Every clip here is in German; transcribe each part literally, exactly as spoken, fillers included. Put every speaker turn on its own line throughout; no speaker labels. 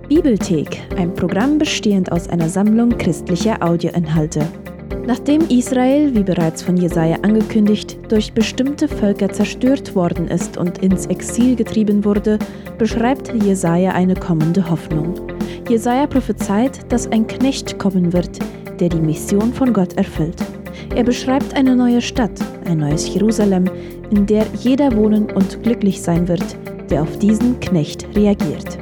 Bibelthek, ein Programm bestehend aus einer Sammlung christlicher Audioinhalte. Nachdem Israel, wie bereits von Jesaja angekündigt, durch bestimmte Völker zerstört worden ist und ins Exil getrieben wurde, beschreibt Jesaja eine kommende Hoffnung. Jesaja prophezeit, dass ein Knecht kommen wird, der die Mission von Gott erfüllt. Er beschreibt eine neue Stadt, ein neues Jerusalem, in der jeder wohnen und glücklich sein wird, der auf diesen Knecht reagiert.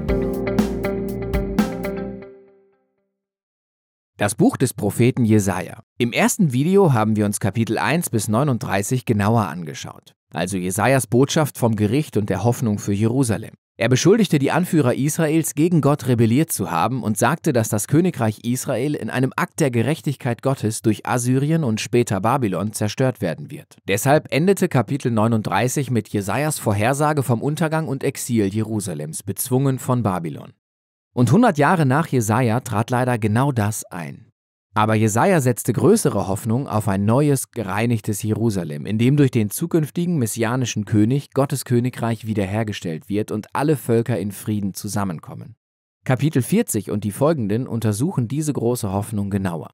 Das Buch des Propheten Jesaja. Im ersten Video haben wir uns Kapitel eins bis neununddreißig genauer angeschaut, also Jesajas Botschaft vom Gericht und der Hoffnung für Jerusalem. Er beschuldigte die Anführer Israels, gegen Gott rebelliert zu haben und sagte, dass das Königreich Israel in einem Akt der Gerechtigkeit Gottes durch Assyrien und später Babylon zerstört werden wird. Deshalb endete Kapitel neununddreißig mit Jesajas Vorhersage vom Untergang und Exil Jerusalems, bezwungen von Babylon. Und hundert Jahre nach Jesaja trat leider genau das ein. Aber Jesaja setzte größere Hoffnung auf ein neues, gereinigtes Jerusalem, in dem durch den zukünftigen messianischen König Gottes Königreich wiederhergestellt wird und alle Völker in Frieden zusammenkommen. Kapitel vierzig und die folgenden untersuchen diese große Hoffnung genauer.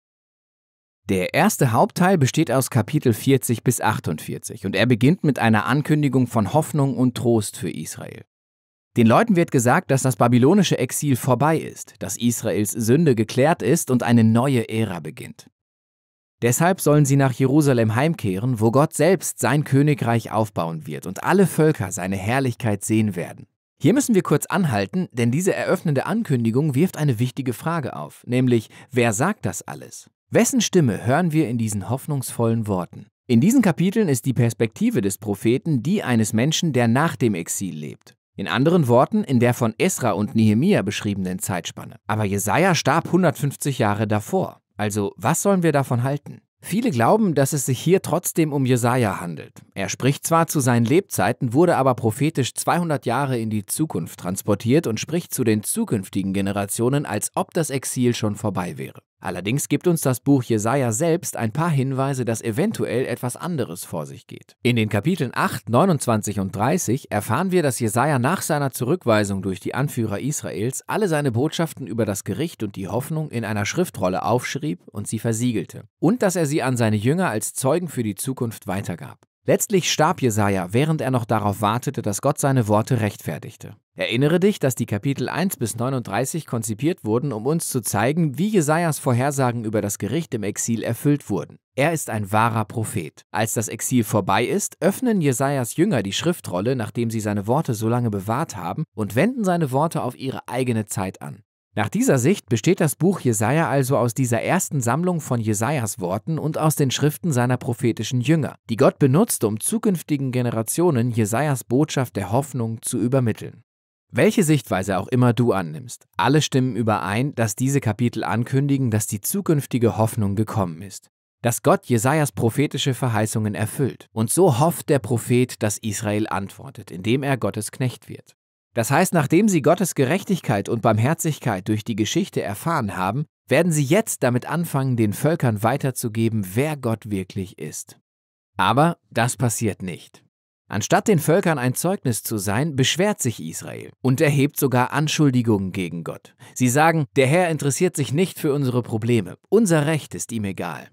Der erste Hauptteil besteht aus Kapitel vierzig bis achtundvierzig und er beginnt mit einer Ankündigung von Hoffnung und Trost für Israel. Den Leuten wird gesagt, dass das babylonische Exil vorbei ist, dass Israels Sünde geklärt ist und eine neue Ära beginnt. Deshalb sollen sie nach Jerusalem heimkehren, wo Gott selbst sein Königreich aufbauen wird und alle Völker seine Herrlichkeit sehen werden. Hier müssen wir kurz anhalten, denn diese eröffnende Ankündigung wirft eine wichtige Frage auf, nämlich, wer sagt das alles? Wessen Stimme hören wir in diesen hoffnungsvollen Worten? In diesen Kapiteln ist die Perspektive des Propheten die eines Menschen, der nach dem Exil lebt. In anderen Worten, in der von Esra und Nehemia beschriebenen Zeitspanne. Aber Jesaja starb hundertfünfzig Jahre davor. Also, was sollen wir davon halten? Viele glauben, dass es sich hier trotzdem um Jesaja handelt. Er spricht zwar zu seinen Lebzeiten, wurde aber prophetisch zweihundert Jahre in die Zukunft transportiert und spricht zu den zukünftigen Generationen, als ob das Exil schon vorbei wäre. Allerdings gibt uns das Buch Jesaja selbst ein paar Hinweise, dass eventuell etwas anderes vor sich geht. In den Kapiteln acht, neunundzwanzig und dreißig erfahren wir, dass Jesaja nach seiner Zurückweisung durch die Anführer Israels alle seine Botschaften über das Gericht und die Hoffnung in einer Schriftrolle aufschrieb und sie versiegelte. Und dass er sie an seine Jünger als Zeugen für die Zukunft weitergab. Letztlich starb Jesaja, während er noch darauf wartete, dass Gott seine Worte rechtfertigte. Erinnere dich, dass die Kapitel eins bis neununddreißig konzipiert wurden, um uns zu zeigen, wie Jesajas Vorhersagen über das Gericht im Exil erfüllt wurden. Er ist ein wahrer Prophet. Als das Exil vorbei ist, öffnen Jesajas Jünger die Schriftrolle, nachdem sie seine Worte so lange bewahrt haben, und wenden seine Worte auf ihre eigene Zeit an. Nach dieser Sicht besteht das Buch Jesaja also aus dieser ersten Sammlung von Jesajas Worten und aus den Schriften seiner prophetischen Jünger, die Gott benutzt, um zukünftigen Generationen Jesajas Botschaft der Hoffnung zu übermitteln. Welche Sichtweise auch immer du annimmst, alle stimmen überein, dass diese Kapitel ankündigen, dass die zukünftige Hoffnung gekommen ist. Dass Gott Jesajas prophetische Verheißungen erfüllt. Und so hofft der Prophet, dass Israel antwortet, indem er Gottes Knecht wird. Das heißt, nachdem sie Gottes Gerechtigkeit und Barmherzigkeit durch die Geschichte erfahren haben, werden sie jetzt damit anfangen, den Völkern weiterzugeben, wer Gott wirklich ist. Aber das passiert nicht. Anstatt den Völkern ein Zeugnis zu sein, beschwert sich Israel und erhebt sogar Anschuldigungen gegen Gott. Sie sagen, der Herr interessiert sich nicht für unsere Probleme, unser Recht ist ihm egal.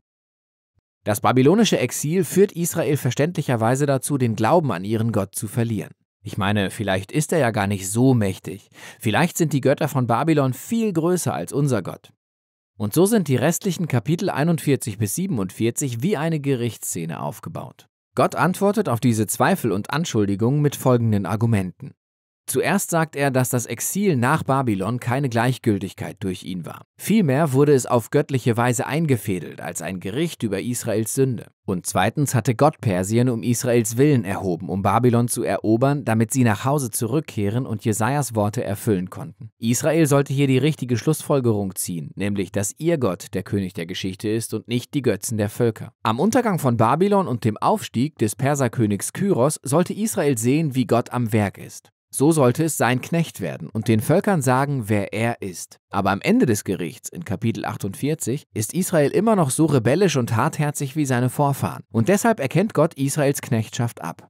Das babylonische Exil führt Israel verständlicherweise dazu, den Glauben an ihren Gott zu verlieren. Ich meine, vielleicht ist er ja gar nicht so mächtig. Vielleicht sind die Götter von Babylon viel größer als unser Gott. Und so sind die restlichen Kapitel einundvierzig bis siebenundvierzig wie eine Gerichtsszene aufgebaut. Gott antwortet auf diese Zweifel und Anschuldigungen mit folgenden Argumenten. Zuerst sagt er, dass das Exil nach Babylon keine Gleichgültigkeit durch ihn war. Vielmehr wurde es auf göttliche Weise eingefädelt als ein Gericht über Israels Sünde. Und zweitens hatte Gott Persien um Israels Willen erhoben, um Babylon zu erobern, damit sie nach Hause zurückkehren und Jesajas Worte erfüllen konnten. Israel sollte hier die richtige Schlussfolgerung ziehen, nämlich, dass ihr Gott der König der Geschichte ist und nicht die Götzen der Völker. Am Untergang von Babylon und dem Aufstieg des Perserkönigs Kyros sollte Israel sehen, wie Gott am Werk ist. So sollte es sein Knecht werden und den Völkern sagen, wer er ist. Aber am Ende des Gerichts, in Kapitel achtundvierzig, ist Israel immer noch so rebellisch und hartherzig wie seine Vorfahren. Und deshalb erkennt Gott Israels Knechtschaft ab.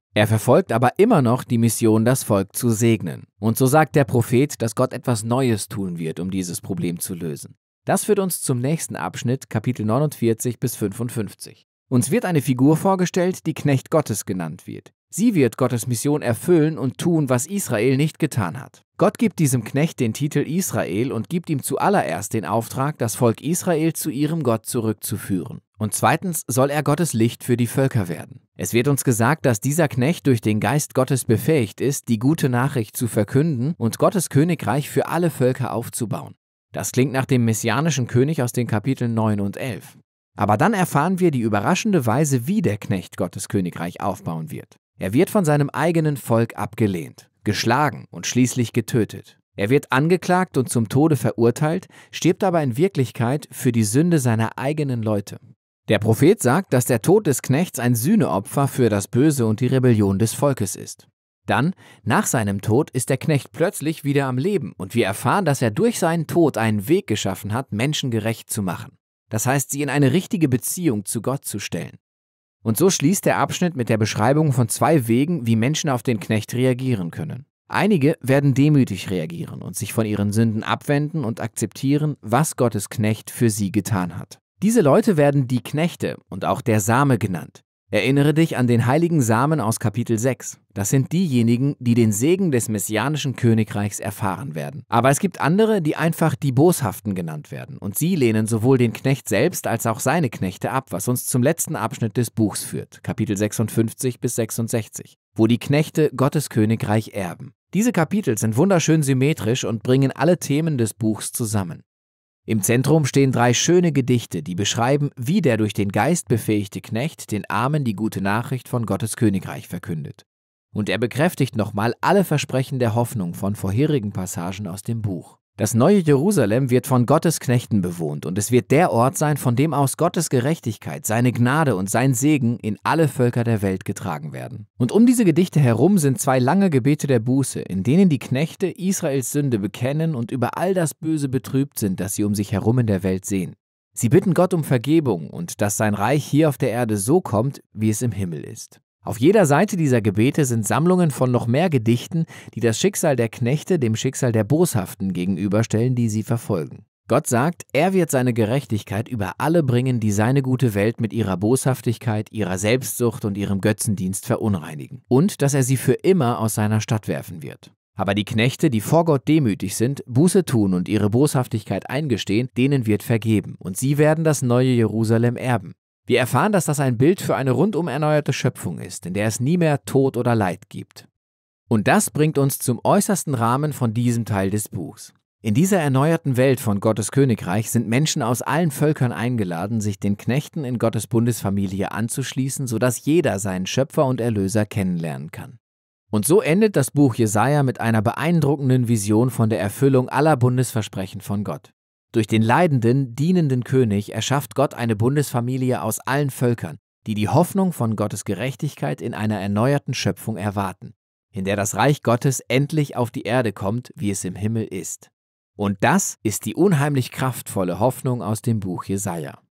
Er verfolgt aber immer noch die Mission, das Volk zu segnen. Und so sagt der Prophet, dass Gott etwas Neues tun wird, um dieses Problem zu lösen. Das führt uns zum nächsten Abschnitt, Kapitel neunundvierzig bis fünfundfünfzig. Uns wird eine Figur vorgestellt, die Knecht Gottes genannt wird. Sie wird Gottes Mission erfüllen und tun, was Israel nicht getan hat. Gott gibt diesem Knecht den Titel Israel und gibt ihm zuallererst den Auftrag, das Volk Israel zu ihrem Gott zurückzuführen. Und zweitens soll er Gottes Licht für die Völker werden. Es wird uns gesagt, dass dieser Knecht durch den Geist Gottes befähigt ist, die gute Nachricht zu verkünden und Gottes Königreich für alle Völker aufzubauen. Das klingt nach dem messianischen König aus den Kapiteln neun und elf. Aber dann erfahren wir die überraschende Weise, wie der Knecht Gottes Königreich aufbauen wird. Er wird von seinem eigenen Volk abgelehnt, geschlagen und schließlich getötet. Er wird angeklagt und zum Tode verurteilt, stirbt aber in Wirklichkeit für die Sünde seiner eigenen Leute. Der Prophet sagt, dass der Tod des Knechts ein Sühneopfer für das Böse und die Rebellion des Volkes ist. Dann, nach seinem Tod, ist der Knecht plötzlich wieder am Leben und wir erfahren, dass er durch seinen Tod einen Weg geschaffen hat, Menschen gerecht zu machen. Das heißt, sie in eine richtige Beziehung zu Gott zu stellen. Und so schließt der Abschnitt mit der Beschreibung von zwei Wegen, wie Menschen auf den Knecht reagieren können. Einige werden demütig reagieren und sich von ihren Sünden abwenden und akzeptieren, was Gottes Knecht für sie getan hat. Diese Leute werden die Knechte und auch der Same genannt. Erinnere dich an den heiligen Samen aus Kapitel sechs. Das sind diejenigen, die den Segen des messianischen Königreichs erfahren werden. Aber es gibt andere, die einfach die Boshaften genannt werden. Und sie lehnen sowohl den Knecht selbst als auch seine Knechte ab, was uns zum letzten Abschnitt des Buchs führt, Kapitel sechsundfünfzig bis sechsundsechzig, wo die Knechte Gottes Königreich erben. Diese Kapitel sind wunderschön symmetrisch und bringen alle Themen des Buchs zusammen. Im Zentrum stehen drei schöne Gedichte, die beschreiben, wie der durch den Geist befähigte Knecht den Armen die gute Nachricht von Gottes Königreich verkündet. Und er bekräftigt nochmal alle Versprechen der Hoffnung von vorherigen Passagen aus dem Buch. Das neue Jerusalem wird von Gottes Knechten bewohnt und es wird der Ort sein, von dem aus Gottes Gerechtigkeit, seine Gnade und sein Segen in alle Völker der Welt getragen werden. Und um diese Gedichte herum sind zwei lange Gebete der Buße, in denen die Knechte Israels Sünde bekennen und über all das Böse betrübt sind, das sie um sich herum in der Welt sehen. Sie bitten Gott um Vergebung und dass sein Reich hier auf der Erde so kommt, wie es im Himmel ist. Auf jeder Seite dieser Gebete sind Sammlungen von noch mehr Gedichten, die das Schicksal der Knechte dem Schicksal der Boshaften gegenüberstellen, die sie verfolgen. Gott sagt, er wird seine Gerechtigkeit über alle bringen, die seine gute Welt mit ihrer Boshaftigkeit, ihrer Selbstsucht und ihrem Götzendienst verunreinigen. Und dass er sie für immer aus seiner Stadt werfen wird. Aber die Knechte, die vor Gott demütig sind, Buße tun und ihre Boshaftigkeit eingestehen, denen wird vergeben. Und sie werden das neue Jerusalem erben. Wir erfahren, dass das ein Bild für eine rundum erneuerte Schöpfung ist, in der es nie mehr Tod oder Leid gibt. Und das bringt uns zum äußersten Rahmen von diesem Teil des Buchs. In dieser erneuerten Welt von Gottes Königreich sind Menschen aus allen Völkern eingeladen, sich den Knechten in Gottes Bundesfamilie anzuschließen, sodass jeder seinen Schöpfer und Erlöser kennenlernen kann. Und so endet das Buch Jesaja mit einer beeindruckenden Vision von der Erfüllung aller Bundesversprechen von Gott. Durch den leidenden, dienenden König erschafft Gott eine Bundesfamilie aus allen Völkern, die die Hoffnung von Gottes Gerechtigkeit in einer erneuerten Schöpfung erwarten, in der das Reich Gottes endlich auf die Erde kommt, wie es im Himmel ist. Und das ist die unheimlich kraftvolle Hoffnung aus dem Buch Jesaja.